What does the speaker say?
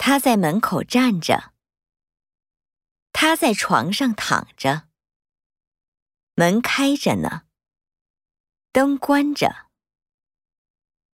他在门口站着。他在床上躺着。门开着呢，灯关着。